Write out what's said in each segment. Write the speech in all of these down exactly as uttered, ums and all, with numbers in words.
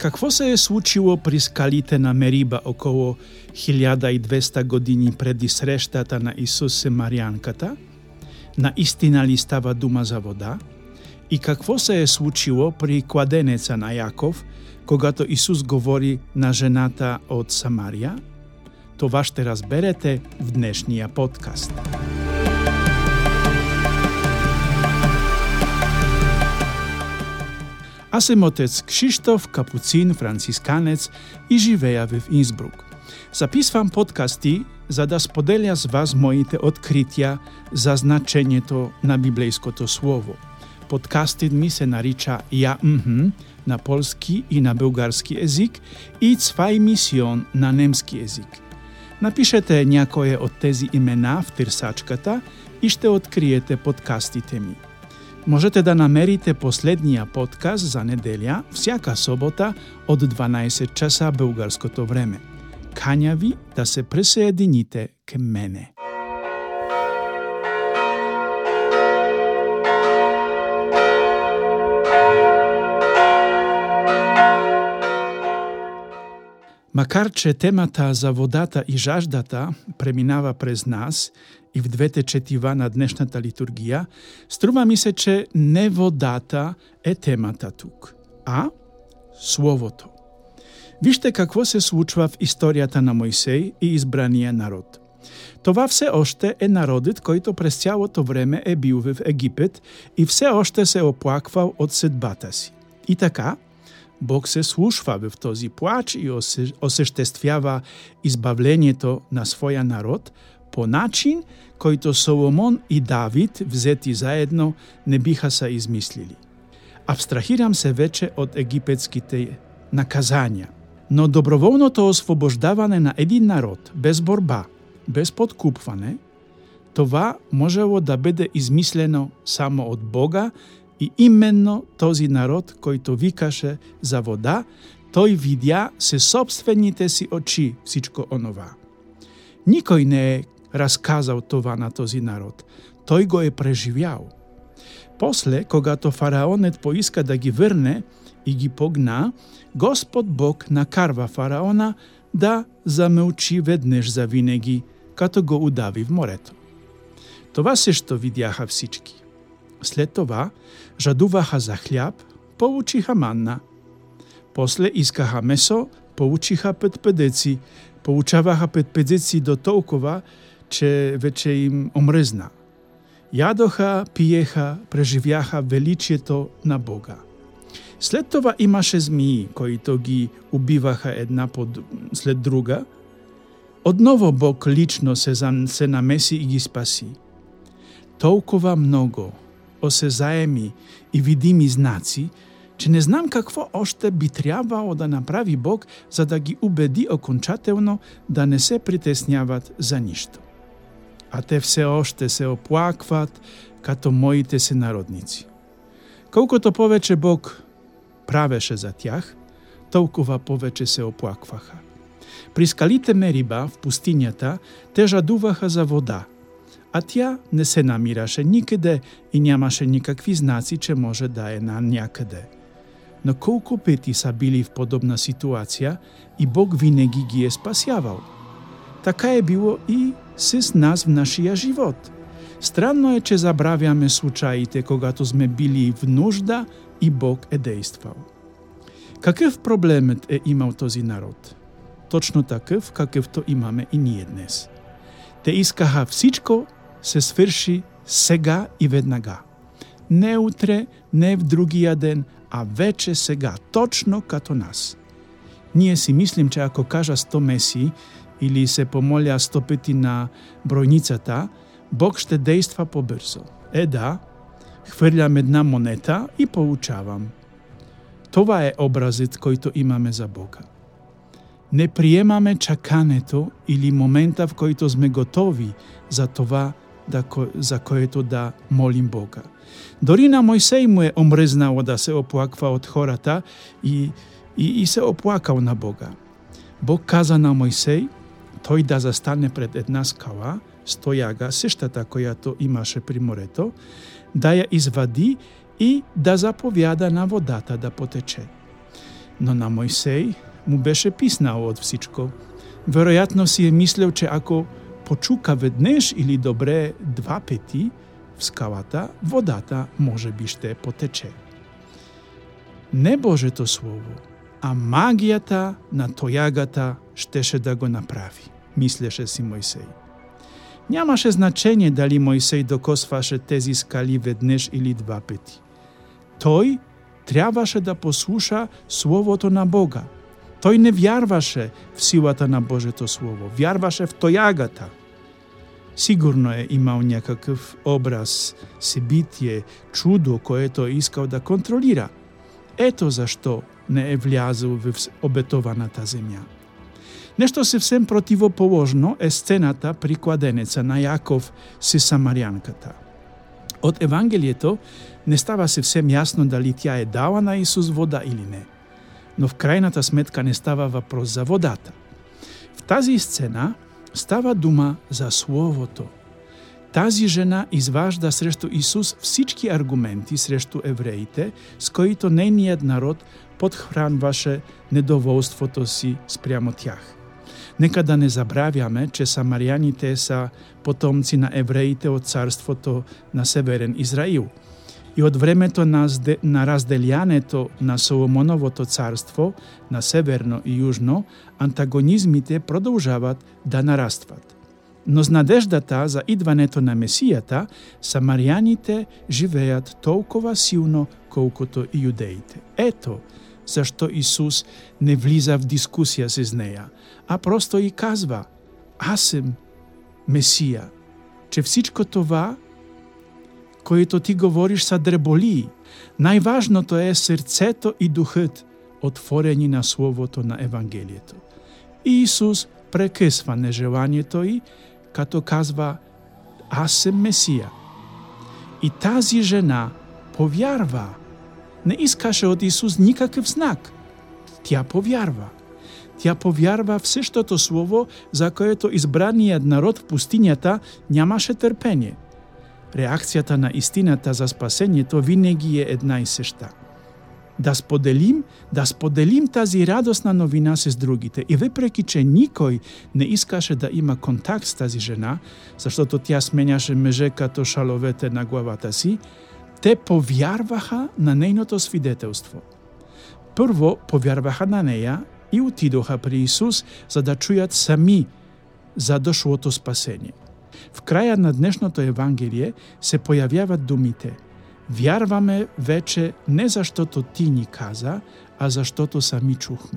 Какво се е случило при скалите на Мериба около хиляда и двеста години преди срещата на Исус с Марянката? Наистина ли става дума за вода? И какво се е случило при кладенеца на Яков, когато Исус говори на жената от Самария? Това ще разберете в днешния подкаст. Аз съм отец Кшиштоф, капуцин, францисканец и живея в Инсбрук. Записвам подкасти, за да споделя с вас моите открития за значението на библейското слово. Подкастът ми се нарича «Я мхм» на полски и на български език и «Цвай мисион» на немски език. Напишете някое от тези имена в търсачката и ще откриете подкастите ми. Можете да намерите последния подкаст за неделя всяка събота от дванайсет часа българското време. Каня ви да се присъедините към мене. Макар че темата за водата и жаждата преминава през нас и в двете четива на днешната литургия, струва ми се, че не водата е темата тук, а Словото. Вижте какво се случва в историята на Мойсей и избрания народ. Това все още е народът, който през цялото време е бил в Египет и все още се оплаквал от съдбата си. И така, Бог се слушва в този плач и осъществява избавлението на своя народ по начин, който Соломон и Давид, взети заедно, не биха са измислили. Абстрахирам се вече от египетските наказания, но доброволното освобождаване на един народ без борба, без подкупване, това можело да бъде измислено само от Бога и именно този народ, който викаше за вода, той видя със собствените си очи всичко онова. Никой не е разказал това на този народ. Той го е преживял. После, когато фараонът поиска да ги върне и ги погна, Господ Бог накарва фараона да замълчи веднъж завинаги, като го удави в морето. Това също видяха всички. След това жадуваха за хляб, получиха манна. После искаха месо, получиха петпедеци, получаваха петпедеци до толкова, че вече им омръзна. Ядоха, пиеха, преживяха величието на Бога. След това имаше змии, които ги убиваха една след друга. Отново Бог лично се, се намеси и ги спаси. Толкова много осезаеми и видими знаци, че не знам какво още би трябвало да направи Бог, за да ги убеди окончателно да не се притесняват за нищо. А те все още се оплакват като моите сънародници. Колкото повече Бог правеше за тях, толкова повече се оплакваха. При скалите Мериба в пустинята те жадуваха за вода, а тя не се намираше никъде и нямаше никакви знаци, че може да е на някъде. Но колко пъти са били в подобна ситуация и Бог винаги ги е спасявал. Така е било и с нас в нашия живот. Странно е, че забравяме случаите, когато сме били в нужда и Бог е действал. Какъв проблемът е имал този народ? Точно такъв, какъвто имаме и ние днес. Те искаха всичко се свърши сега и веднага. Не утре, не в другия ден, а вече сега, точно като нас. Ние си мислим, че ако кажа сто меси или се помоля сто пъти на бройницата, Бог ще действа по-бързо. Е да, хвърлям една монета и получавам. Това е образът, който имаме за Бога. Не приемаме чакането или момента, в който сме готови за това, да, за което да молим Бога. Дори на Мойсей му е омръзнало да се оплаква от хората и, и, и се оплакал на Бога. Бог каза на Мойсей, той да застане пред една скала, стояга, същата, която имаше при морето, да я извади и да заповяда на водата да потече. но на Мойсей му беше писнало од всичко. Веројатно си е мислел, че ако почука веднеш или добре два пети в скалата, водата може би ще потече. Не Божето Слово, а магијата на тојагата щеше да го направи, мислеше си Мојсей. Нямаше значење дали Мојсей докосваше тези скали веднеш или два пети. Тој требаше да послуша Словото на Бога. Тој не вярваше в силата на Божето Слово, вярваше в тојагата. Сигурно е имал някакъв образ, себитие, чудо, което искал да контролира. Ето зашто не е влязал в обетованата земја. Нешто съвсем противоположно е сцената при кладенеца на Јаков со самарјанката. Од Евангелието не става съвсем јасно дали тя е дала на Исус вода или не, но в крајната сметка не става въпрос за водата. В тази сцена става дума за Словото. Тази жена изважда срещу Исус всички аргументи срещу евреите, с които нейният народ подхранваше недоволството си спрямо тях. Нека да не забравяме, че самарјаните са потомци на евреите от царството на Северен Израил. И от времето на, на разделянето на Соломоновото царство на северно и южно, антагонизмите продължават да нарастват. Но с надеждата за идването на Месијата, самарјаните живеят толкова силно, колкото и юдеите. Ето зашто Исус не влиза в дискусија с неја, а просто и казва: аз съм Месија, че всичко това, което ти говориш, са дреболии. Најважното е срцето и духът, отворени на Словото на Евангелието. И Исус прекъсва нежеланието й, като казва: аз съм Месија. И тази жена повярва. Не искаше от Исус никакъв знак. Тя повярва. Тя повярва в същото Слово, за което избраният народ в пустинята нямаше търпение. Реакцията на истината за спасението винаги е една и съща. Да споделим, да споделим тази радостна новина с другите. И въпреки, че никой не искаше да има контакт с тази жена, защото тя сменяше мъже като шаловете на главата си, те повярваха на нейното свидетелство. Първо повярваха на нея и отидоха при Исус, за да чуят сами за дошлото спасение. В края на днешното Евангелие се появяват думите: вярваме вече не защото ти ни каза, а защото сами чухме.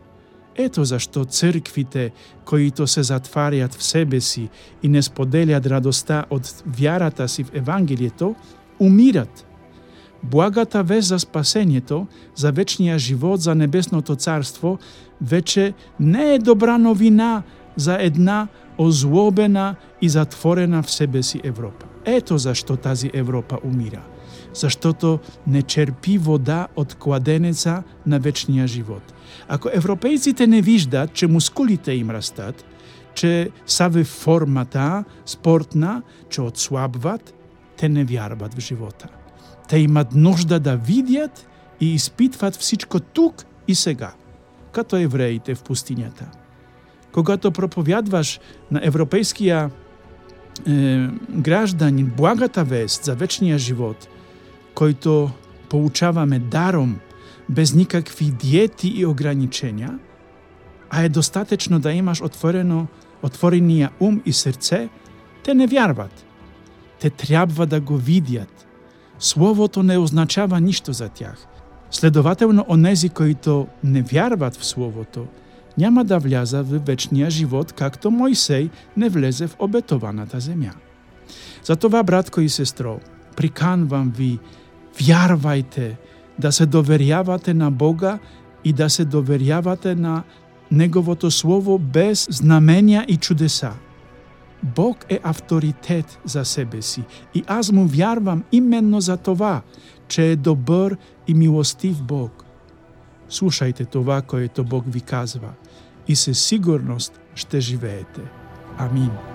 Ето защо църквите, които се затварят в себе си и не споделят радостта от вярата си в Евангелието, умират. Благата вест за спасението, за вечния живот, за небесното царство, вече не е добра новина за една озлобена и затворена в себе си Европа. Ето защо тази Европа умира. Защото не черпи вода от кладенеца на вечния живот. Ако европейците не виждат, че мускулите им растат, че са в формата спортна, че отслабват, те не вярват в живота. Те имат нужда да видят и изпитват всичко тук и сега, като евреите в пустинята. Когато проповядваш на европейския е, гражданин благата вест за вечния живот, който получаваме даром, без никакви диети и ограничения, а е достатъчно да имаш отворено, отворения ум и сърце, те не вярват. Те трябва да го видят. Словото не означава нищо за тях. Следователно, онези, които не вярват в Словото, няма да вляза в вечния живот, както Мойсей не влезе в обетованата земя. Затова, братко и сестро, приканвам ви, вярвайте, да се доверявате на Бога и да се доверявате на Неговото Слово без знамения и чудеса. Бог е авторитет за себе си и аз му вярвам именно за това, че е добър и милостив Бог. Слушайте това, което Бог ви казва и със сигурност ще живеете. Амин.